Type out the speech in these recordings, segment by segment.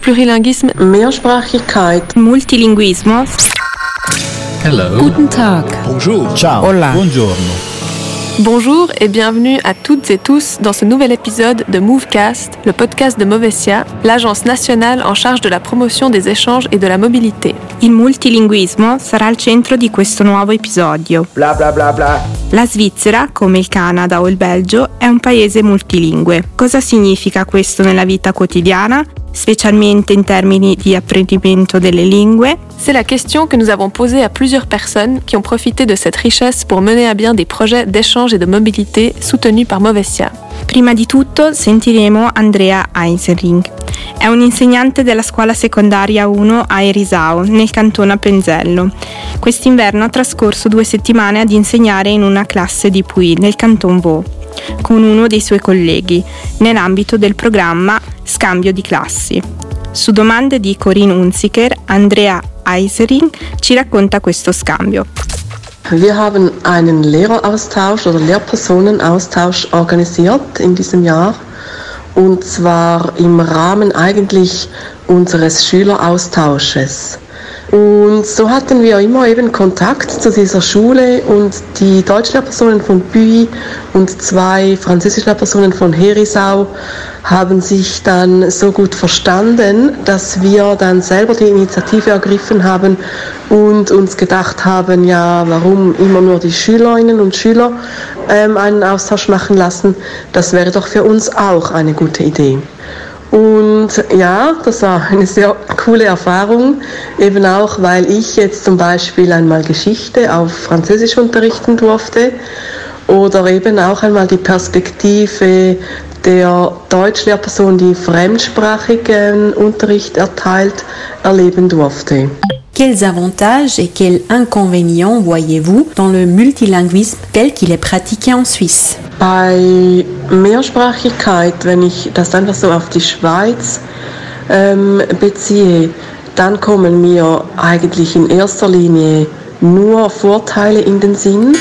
Plurilinguisme, Mehrsprachigkeit, Multilinguismo. Hello. Guten Tag. Bonjour. Ciao. Hola. Buongiorno. Bonjour et bienvenue à toutes et tous dans ce nouvel épisode de Movecast, le podcast de Movesia, l'agence nationale en charge de la promotion des échanges et de la mobilité. Il multilinguismo sarà al centro di questo nuovo episodio. Bla bla bla bla. La Svizzera, come il Canada o il Belgio, è un paese multilingue. Cosa significa questo nella vita quotidiana, spécialement in termini di apprendimento delle lingue? C'est la question que nous avons posée à plusieurs personnes qui ont profité de cette richesse pour mener à bien des projets d'échange et de mobilité soutenus par Movesia. Prima di tutto sentiremo Andrea Eisenring. È un insegnante della scuola secondaria 1 a Erisau, nel canton Appenzello. Quest'inverno ha trascorso 2 settimane ad insegnare in una classe di Puy, nel canton Vaud, con uno dei suoi colleghi, nell'ambito del programma Scambio di classi. Su domande di Corinne Unziker, Andrea Eisenring ci racconta questo scambio. Wir haben einen Lehreraustausch oder Lehrpersonenaustausch organisiert in diesem Jahr, und zwar im Rahmen eigentlich unseres Schüleraustausches. Und so hatten wir immer eben Kontakt zu dieser Schule, und die Deutschlehrpersonen von Puy und 2 Französischlehrpersonen von Herisau haben sich dann so gut verstanden, dass wir dann selber die Initiative ergriffen haben und uns gedacht haben, ja, warum immer nur die Schülerinnen und Schüler einen Austausch machen lassen? Das wäre doch für uns auch eine gute Idee. Und ja, das war eine sehr coole Erfahrung, eben auch, weil ich jetzt zum Beispiel einmal Geschichte auf Französisch unterrichten durfte oder eben auch einmal die Perspektive der Deutschlehrperson, die fremdsprachigen Unterricht erteilt, erleben durfte. Quels avantages et quels inconvénients voyez-vous dans le multilinguisme tel qu'il est pratiqué en Suisse? Bei Mehrsprachigkeit, wenn ich das einfach so auf die Schweiz beziehe, dann kommen mir eigentlich in erster Linie nur Vorteile in den Sinn,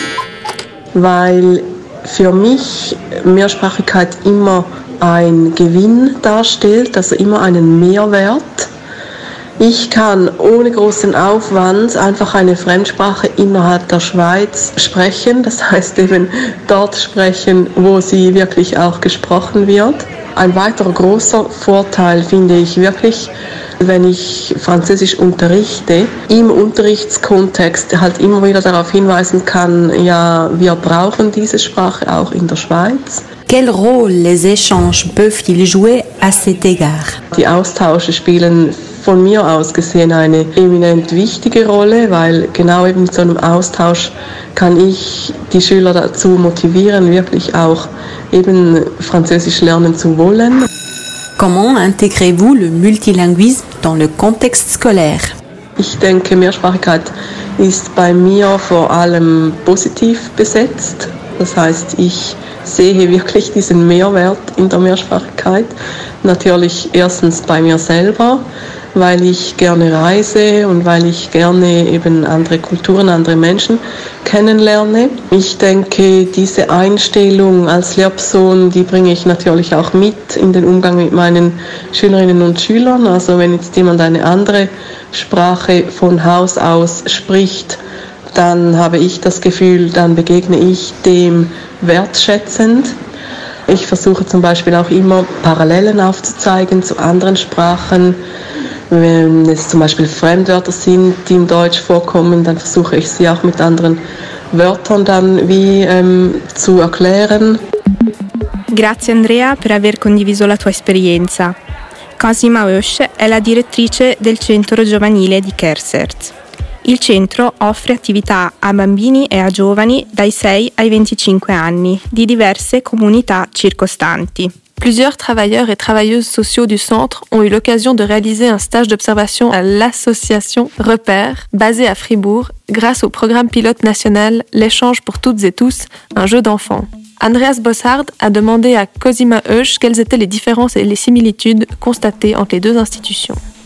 weil für mich Mehrsprachigkeit immer ein Gewinn darstellt, also immer einen Mehrwert. Ich kann ohne großen Aufwand einfach eine Fremdsprache innerhalb der Schweiz sprechen, das heißt eben dort sprechen, wo sie wirklich auch gesprochen wird. Ein weiterer großer Vorteil finde ich wirklich, wenn ich Französisch unterrichte, im Unterrichtskontext halt immer wieder darauf hinweisen kann, ja, wir brauchen diese Sprache auch in der Schweiz. Quel rôle les échanges peuvent-ils jouer à cet égard? Die Austausche spielen von mir aus gesehen eine eminent wichtige Rolle, weil genau eben mit so einem Austausch kann ich die Schüler dazu motivieren, wirklich auch eben Französisch lernen zu wollen. Comment intégrez-vous le multilinguisme dans le contexte scolaire? Ich denke, Mehrsprachigkeit ist bei mir vor allem positiv besetzt. Das heißt, ich sehe wirklich diesen Mehrwert in der Mehrsprachigkeit. Natürlich erstens bei mir selber, weil ich gerne reise und weil ich gerne eben andere Kulturen, andere Menschen kennenlerne. Ich denke, diese Einstellung als Lehrperson, die bringe ich natürlich auch mit in den Umgang mit meinen Schülerinnen und Schülern. Also wenn jetzt jemand eine andere Sprache von Haus aus spricht, dann habe ich das Gefühl, dann begegne ich dem wertschätzend. Ich versuche zum Beispiel auch immer Parallelen aufzuzeigen zu anderen Sprachen. Wenn es zum Beispiel Fremdwörter sind, die im Deutsch vorkommen, dann versuche ich sie auch mit anderen Wörtern dann wie zu erklären. Grazie Andrea per aver condiviso la tua esperienza. Cosima Oesch è la direttrice del centro giovanile di Kersert. Il centro offre attività a bambini e a giovani dai 6 ai 25 anni di diverse comunità circostanti. Plusieurs travailleurs et travailleuses sociaux du centre ont eu l'occasion de réaliser un stage d'observation à l'association Repère, basée à Fribourg, grâce au programme pilote national L'échange pour toutes et tous, un jeu d'enfants. Andreas Bossard a demandé à Cosima Oesch quelles étaient les différences et les similitudes constatées entre les 2 institutions.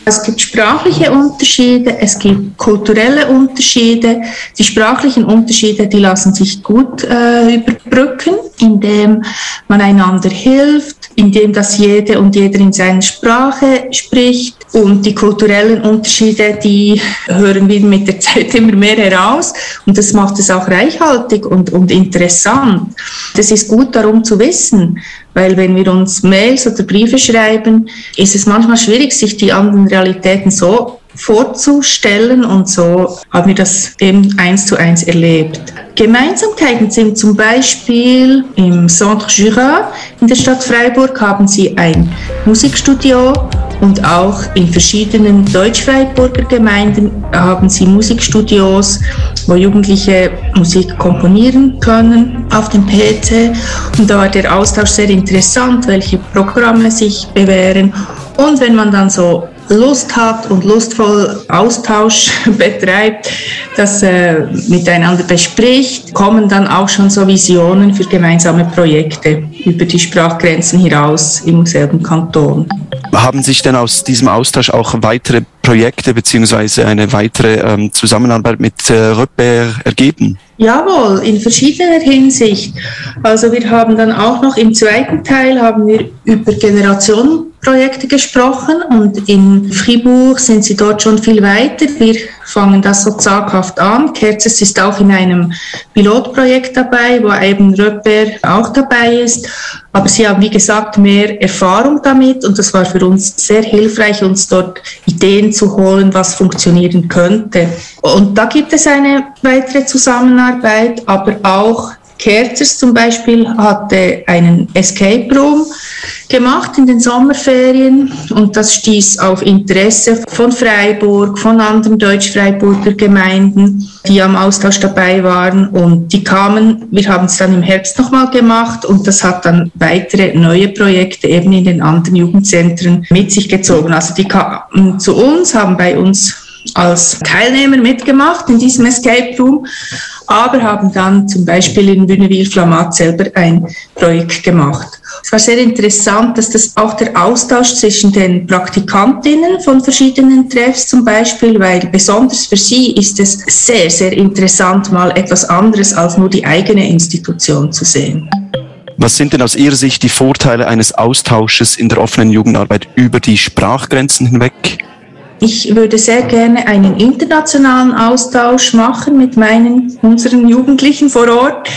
Es gibt sprachliche Unterschiede, es gibt kulturelle Unterschiede. Die sprachlichen Unterschiede, die lassen sich gut überbrücken, indem man einander hilft, indem das jede und jeder in seiner Sprache spricht. Und die kulturellen Unterschiede, die hören wir mit der Zeit immer mehr heraus. Und das macht es auch reichhaltig und interessant. Das ist gut darum zu wissen, weil wenn wir uns Mails oder Briefe schreiben, ist es manchmal schwierig, sich die anderen Realitäten so vorzustellen, und so haben wir das eben 1:1 erlebt. Gemeinsamkeiten sind zum Beispiel im Centre Jura in der Stadt Freiburg haben sie ein Musikstudio, und auch in verschiedenen Deutsch-Freiburger Gemeinden haben sie Musikstudios, wo Jugendliche Musik komponieren können auf dem PC. Und da war der Austausch sehr interessant, welche Programme sich bewähren. Und wenn man dann so Lust hat und lustvoll Austausch betreibt, das miteinander bespricht, kommen dann auch schon so Visionen für gemeinsame Projekte über die Sprachgrenzen hinaus im selben Kanton. Haben sich denn aus diesem Austausch auch weitere Projekte bzw. eine weitere Zusammenarbeit mit Repère ergeben? Jawohl, in verschiedener Hinsicht. Also wir haben dann auch noch im zweiten Teil haben wir über Generationenprojekte gesprochen, und in Fribourg sind sie dort schon viel weiter. Wir fangen das so zaghaft an. Kerzers ist auch in einem Pilotprojekt dabei, wo eben Repère auch dabei ist. Aber sie haben, wie gesagt, mehr Erfahrung damit, und das war für uns sehr hilfreich, uns dort Ideen zu holen, was funktionieren könnte. Und da gibt es eine weitere Zusammenarbeit, aber auch Kerzers zum Beispiel hatte einen Escape Room gemacht in den Sommerferien, und das stieß auf Interesse von Freiburg, von anderen Deutsch-Freiburger Gemeinden, die am Austausch dabei waren, und die kamen, wir haben es dann im Herbst nochmal gemacht, und das hat dann weitere neue Projekte eben in den anderen Jugendzentren mit sich gezogen. Also die kamen zu uns, haben bei uns als Teilnehmer mitgemacht in diesem Escape Room, aber haben dann zum Beispiel in Wünnewil-Flamatt selber ein Projekt gemacht. Es war sehr interessant, dass das auch der Austausch zwischen den Praktikantinnen von verschiedenen Treffs zum Beispiel, weil besonders für sie ist es sehr, sehr interessant, mal etwas anderes als nur die eigene Institution zu sehen. Was sind denn aus Ihrer Sicht die Vorteile eines Austausches in der offenen Jugendarbeit über die Sprachgrenzen hinweg? Ich würde sehr gerne einen internationalen Austausch machen mit unseren Jugendlichen vor Ort.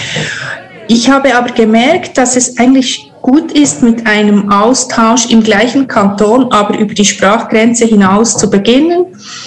Ich habe aber gemerkt, dass es eigentlich gut ist, mit einem Austausch im gleichen Kanton, aber über die Sprachgrenze hinaus zu beginnen.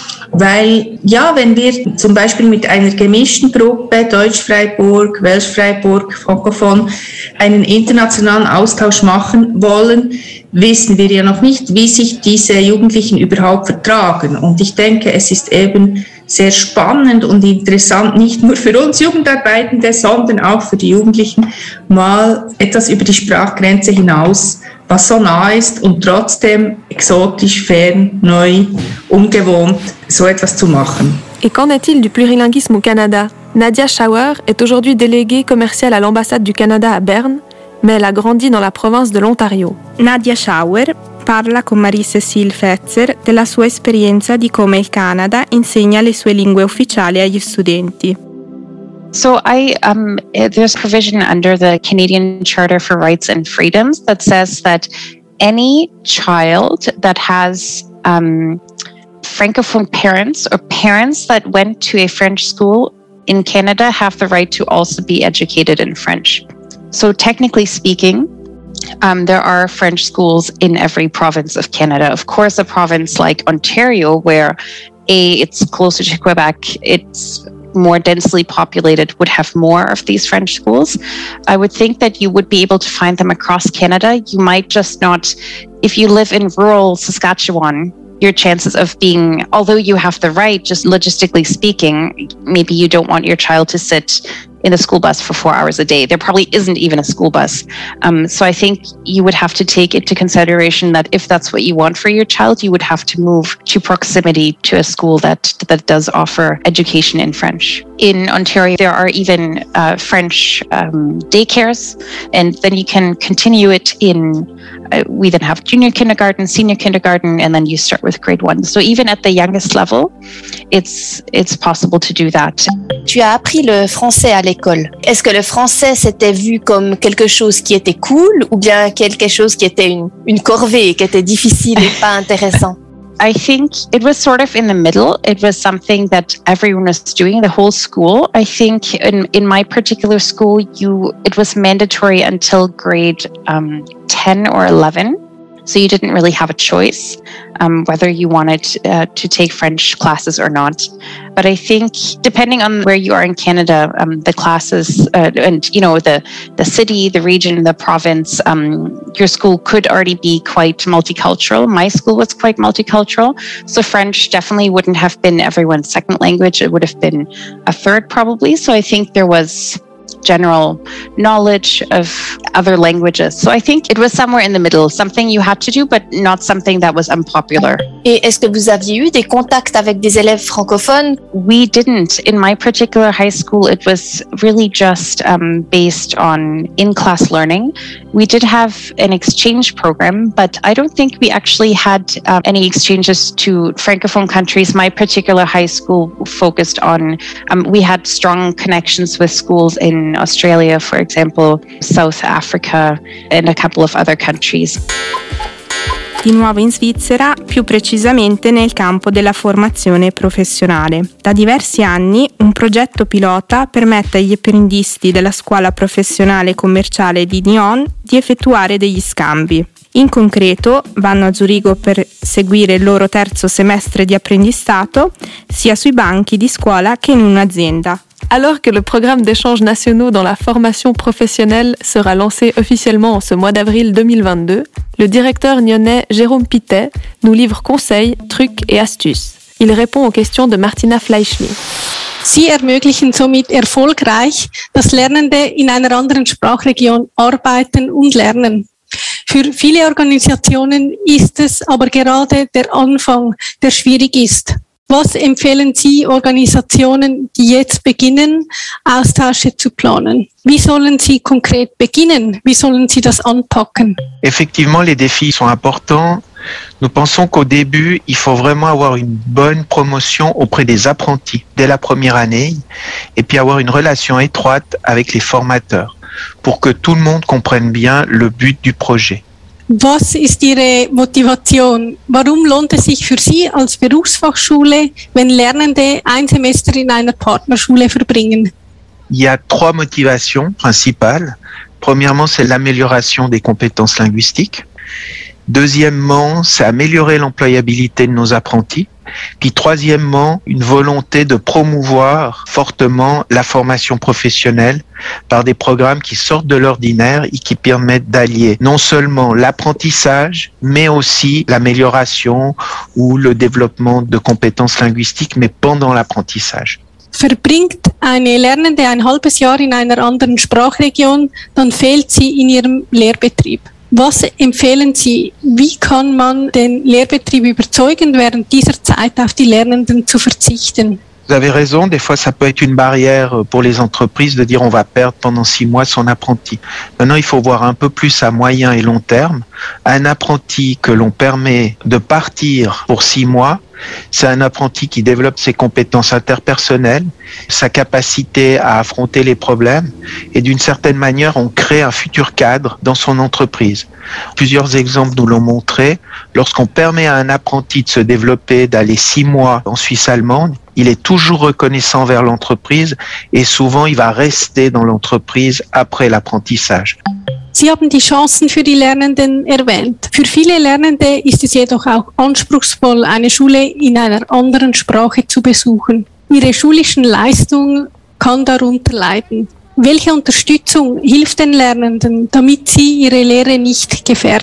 Weil, ja, wenn wir zum Beispiel mit einer gemischten Gruppe, Deutsch-Freiburg, Welsch-Freiburg, Frankophon, einen internationalen Austausch machen wollen, wissen wir ja noch nicht, wie sich diese Jugendlichen überhaupt vertragen. Und ich denke, es ist eben sehr spannend und interessant, nicht nur für uns Jugendarbeitende, sondern auch für die Jugendlichen, mal etwas über die Sprachgrenze hinaus, was so nah ist und trotzdem exotisch, fern, neu, ungewohnt, so etwas zu machen. Et qu'en est-il du plurilinguisme au Canada? Nadia Schauer est aujourd'hui déléguée commerciale à l'ambassade du Canada à Berne, mais elle a grandi dans la province de l'Ontario. Nadia Schauer parla con Marie-Cécile Fetzer della sua esperienza di come il Canada insegna le sue lingue ufficiali agli studenti. So there's provision under the Canadian Charter for Rights and Freedoms that says that any child that has Francophone parents or parents that went to a French school in Canada have the right to also be educated in French. So technically speaking, there are French schools in every province of Canada. Of course, a province like Ontario, where it's closer to Quebec, it's more densely populated, would have more of these French schools. I would think that you would be able to find them across Canada. You might just not, if you live in rural Saskatchewan, your chances of being, although you have the right, just logistically speaking, maybe you don't want your child to sit in the school bus for 4 hours a day. There probably isn't even a school bus. So I think you would have to take into consideration that if that's what you want for your child, you would have to move to proximity to a school that does offer education in French. In Ontario, there are even French daycares, and then you can continue it in, we then have junior kindergarten, senior kindergarten, and then you start with grade 1. So even at the youngest level, it's possible to do that. Tu as appris le français à l'école. Est-ce que le français s'était vu comme quelque chose qui était cool ou bien quelque chose qui était une corvée, qui était difficile et pas intéressant? I think it was sort of in the middle. It was something that everyone was doing, the whole school. I think in my particular school, it was mandatory until grade 10 or 11. So you didn't really have a choice whether you wanted to take French classes or not. But I think depending on where you are in Canada, the classes and the city, the region, the province, your school could already be quite multicultural. My school was quite multicultural. So French definitely wouldn't have been everyone's second language. It would have been a third probably. So I think there was general knowledge of other languages. So I think it was somewhere in the middle, something you had to do, but not something that was unpopular. Et est-ce que vous aviez eu des contacts avec des élèves francophones? We didn't. In my particular high school, it was really just based on in-class learning. We did have an exchange program, but I don't think we actually had any exchanges to Francophone countries. My particular high school focused on, we had strong connections with schools in Australia, for example, South Africa, and a couple of other countries. Di nuovo in Svizzera, più precisamente nel campo della formazione professionale. Da diversi anni un progetto pilota permette agli apprendisti della scuola professionale commerciale di Nyon di effettuare degli scambi. In concreto vanno a Zurigo per seguire il loro terzo semestre di apprendistato, sia sui banchi di scuola che in un'azienda. Alors que le programme d'échanges nationaux dans la formation professionnelle sera lancé officiellement en ce mois d'avril 2022, le directeur nyonnais Jérôme Pittet nous livre conseils, trucs et astuces. Il répond aux questions de Martina Fleischli. Sie ermöglichen somit erfolgreich, dass Lernende in einer anderen Sprachregion arbeiten und lernen. Für viele Organisationen ist es aber gerade der Anfang, der schwierig ist. Was empfehlen Sie Organisationen, die jetzt beginnen, Austausche zu planen? Wie sollen Sie konkret beginnen? Wie sollen Sie das anpacken? Effectivement, les défis sont importants. Nous pensons qu'au début, il faut vraiment avoir une bonne promotion auprès des apprentis dès la première année et puis avoir une relation étroite avec les formateurs pour que tout le monde comprenne bien le but du projet. Was ist Ihre Motivation? Warum lohnt es sich für Sie als Berufsfachschule, wenn Lernende ein Semester in einer Partnerschule verbringen? Il y a 3 motivations principales. Premièrement, c'est l'amélioration des compétences linguistiques. Deuxièmement, c'est améliorer l'employabilité de nos apprentis. Puis troisièmement, une volonté de promouvoir fortement la formation professionnelle par des programmes qui sortent de l'ordinaire et qui permettent d'allier non seulement l'apprentissage, mais aussi l'amélioration ou le développement de compétences linguistiques, mais pendant l'apprentissage. Verbringt eine Lernende ein halbes Jahr in einer anderen Sprachregion, dann fehlt sie in ihrem Lehrbetrieb. Was empfehlen Sie? Wie kann man den Lehrbetrieb überzeugen, während dieser Zeit auf die Lernenden zu verzichten? Vous avez raison, des fois ça peut être une barrière pour les entreprises de dire on va perdre pendant 6 mois son apprenti. Maintenant, il faut voir un peu plus à moyen et long terme. Un apprenti que l'on permet de partir pour 6 mois, c'est un apprenti qui développe ses compétences interpersonnelles, sa capacité à affronter les problèmes et d'une certaine manière, on crée un futur cadre dans son entreprise. Plusieurs exemples nous l'ont montré. Lorsqu'on permet à un apprenti de se développer, d'aller 6 mois en Suisse allemande, il est toujours reconnaissant vers l'entreprise et souvent il va rester dans l'entreprise après l'apprentissage. Sie haben die Chancen für die Lernenden erwähnt. Für viele Lernende ist es jedoch auch anspruchsvoll, eine Schule in einer anderen Sprache zu besuchen. Ihre schulischen Leistung kann darunter leiden. Welche Unterstützung hilft den Lernenden, damit sie ihre Lehre nicht gefährden?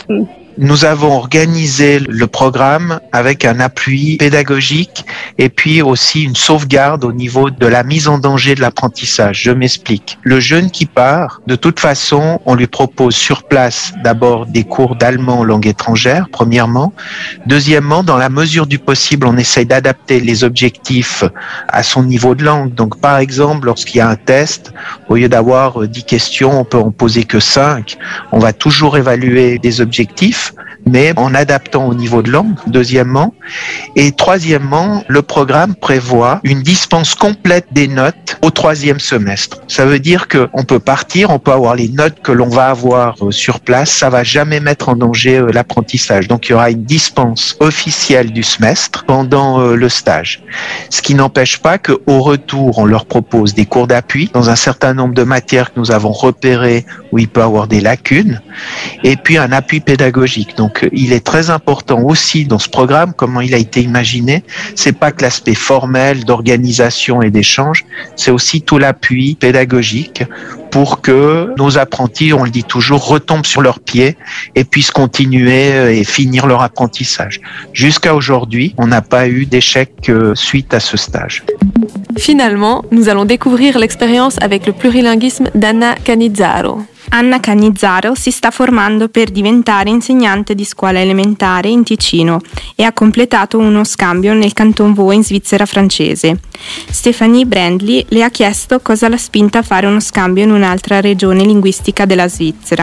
Nous avons organisé le programme avec un appui pédagogique et puis aussi une sauvegarde au niveau de la mise en danger de l'apprentissage. Je m'explique. Le jeune qui part, de toute façon, on lui propose sur place d'abord des cours d'allemand langue étrangère, premièrement. Deuxièmement, dans la mesure du possible, on essaye d'adapter les objectifs à son niveau de langue. Donc, par exemple, lorsqu'il y a un test, au lieu d'avoir 10 questions, on peut en poser que 5. On va toujours évaluer des objectifs, mais en adaptant au niveau de langue, deuxièmement. Et troisièmement, le programme prévoit une dispense complète des notes au 3e semestre. Ça veut dire qu'on peut partir, on peut avoir les notes que l'on va avoir sur place, ça va jamais mettre en danger l'apprentissage. Donc il y aura une dispense officielle du semestre pendant le stage. Ce qui n'empêche pas qu'au retour, on leur propose des cours d'appui dans un certain nombre de matières que nous avons repérées où il peut avoir des lacunes, et puis un appui pédagogique. Donc, il est très important aussi dans ce programme, comment il a été imaginé, c'est pas que l'aspect formel d'organisation et d'échange, c'est aussi tout l'appui pédagogique pour que nos apprentis, on le dit toujours, retombent sur leurs pieds et puissent continuer et finir leur apprentissage. Jusqu'à aujourd'hui, on n'a pas eu d'échec suite à ce stage. Finalement, nous allons découvrir l'expérience avec le plurilinguisme d'Anna Canizzaro. Anna Canizzaro si sta formando per diventare insegnante di scuola elementare in Ticino e ha completato uno scambio nel Canton Vaud in Svizzera francese. Stephanie Brandley le ha chiesto cosa l'ha spinta a fare uno scambio in un'altra regione linguistica della Svizzera.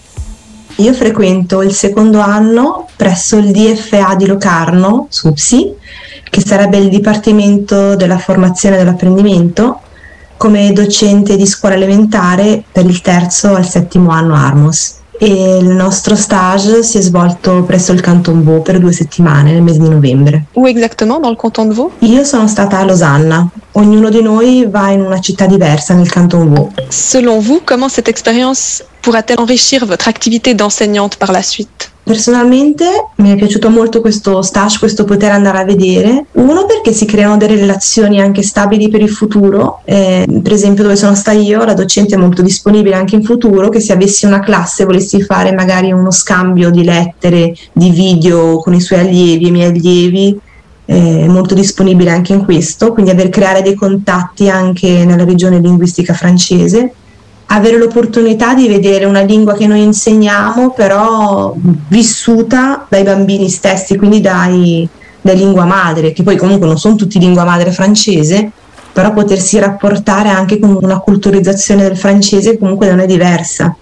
Io frequento il secondo anno presso il DFA di Locarno, SUPSI, che sarebbe il Dipartimento della Formazione e dell'Apprendimento, come docente di scuola elementare per il 3° al 7° anno Armos. E il nostro stage si è svolto presso il Canton Vaud per 2 settimane nel mese di novembre. Où exactement dans le canton de Vaud? Io sono stata a Losanna. Ognuno di noi va in una città diversa nel Canton Vaud. Selon vous, comment cette expérience pourra-t-elle enrichir votre activité d'enseignante par la suite? Personalmente mi è piaciuto molto questo stage, questo poter andare a vedere. Uno, perché si creano delle relazioni anche stabili per il futuro, per esempio dove sono stata io, la docente è molto disponibile anche in futuro, che se avessi una classe e volessi fare magari uno scambio di lettere, di video con i suoi allievi e i miei allievi, è molto disponibile anche in questo, quindi creare dei contatti anche nella regione linguistica francese. Avere l'opportunità di vedere una lingua che noi insegniamo però vissuta dai bambini stessi, quindi dai lingua madre, che poi comunque non sono tutti lingua madre francese, però potersi rapportare anche con una culturizzazione del francese comunque non è diversa,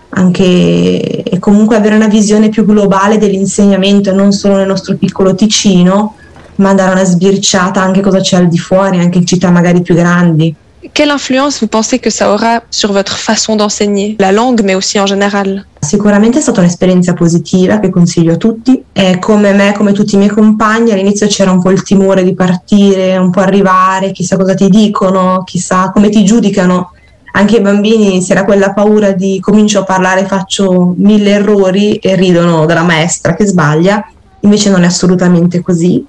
anche, e comunque avere una visione più globale dell'insegnamento, non solo nel nostro piccolo Ticino, ma dare una sbirciata anche cosa c'è al di fuori, anche in città magari più grandi. Quelle influence vous pensez que ça aura sur votre façon d'enseigner la langue, mais aussi en général? Sicuramente è stata un'esperienza positiva che consiglio a tutti. Come me, come tutti i miei compagni, all'inizio c'era un po' il timore di partire, un po' arrivare, chissà cosa ti dicono, chissà come ti giudicano. Anche i bambini c'era quella paura di comincio a parlare, faccio 1000 errori e ridono della maestra che sbaglia. Invece non è assolutamente così.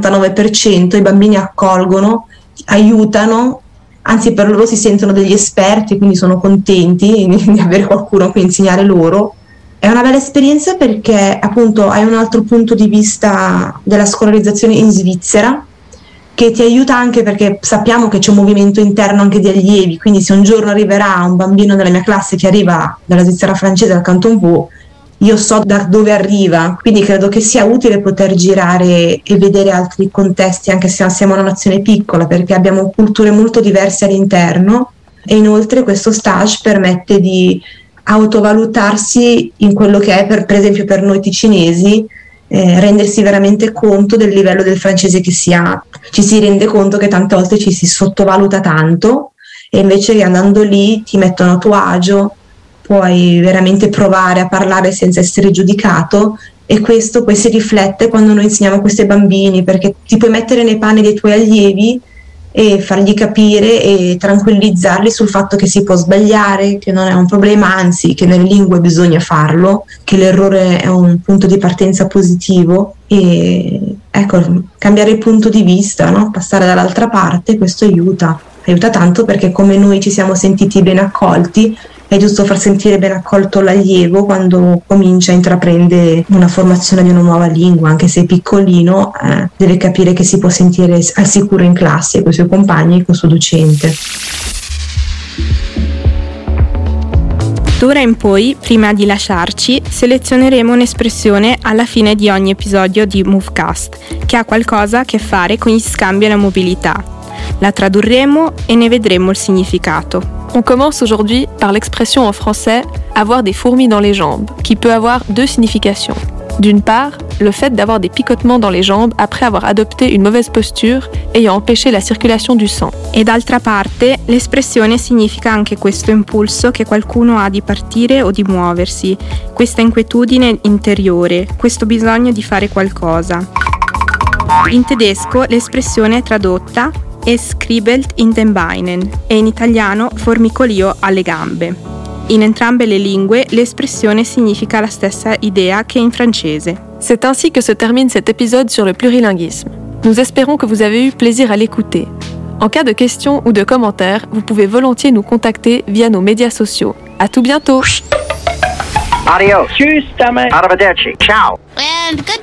99% i bambini accolgono, aiutano, anzi per loro si sentono degli esperti, quindi sono contenti di avere qualcuno a cui insegnare loro. È una bella esperienza perché appunto hai un altro punto di vista della scolarizzazione in Svizzera, che ti aiuta anche perché sappiamo che c'è un movimento interno anche di allievi, quindi se un giorno arriverà un bambino della mia classe che arriva dalla Svizzera francese, dal Canton Vaud, io so da dove arriva, quindi credo che sia utile poter girare e vedere altri contesti, anche se siamo una nazione piccola, perché abbiamo culture molto diverse all'interno, e inoltre questo stage permette di autovalutarsi in quello che è, per esempio per noi ticinesi, rendersi veramente conto del livello del francese che si ha. Ci si rende conto che tante volte ci si sottovaluta tanto, e invece che andando lì ti mettono a tuo agio, puoi veramente provare a parlare senza essere giudicato, e questo poi si riflette quando noi insegniamo a questi bambini, perché ti puoi mettere nei panni dei tuoi allievi e fargli capire e tranquillizzarli sul fatto che si può sbagliare, che non è un problema, anzi che nelle lingue bisogna farlo, che l'errore è un punto di partenza positivo, e ecco, cambiare il punto di vista, no? Passare dall'altra parte, questo aiuta tanto, perché come noi ci siamo sentiti ben accolti, è giusto far sentire ben accolto l'allievo quando comincia a intraprendere una formazione di una nuova lingua, anche se è piccolino, deve capire che si può sentire al sicuro in classe con i suoi compagni e con il suo docente. D'ora in poi, prima di lasciarci, selezioneremo un'espressione alla fine di ogni episodio di Movecast, che ha qualcosa a che fare con gli scambi e la mobilità. La tradurremo et ne vedremo il significato. On commence aujourd'hui par l'expression en français « avoir des fourmis dans les jambes », qui peut avoir deux significations. D'une part, le fait d'avoir des picotements dans les jambes après avoir adopté une mauvaise posture ayant empêché la circulation du sang. E d'altra parte, l'espressione significa anche questo impulso che qualcuno ha di partire o di muoversi, questa inquietudine interiore, questo bisogno di fare qualcosa. In tedesco l'espressione è tradotta Es kribbelt in den Beinen e in italiano formicolio alle gambe. In entrambe le lingue, l'espressione significa la stessa idea che in francese. C'est ainsi que se termine cet épisode sur le plurilinguisme. Nous espérons que vous avez eu plaisir à l'écouter. En cas de questions ou de commentaires, vous pouvez volontiers nous contacter via nos médias sociaux. À tout bientôt. Adios. Tschüss, Arrivederci. Ciao. And good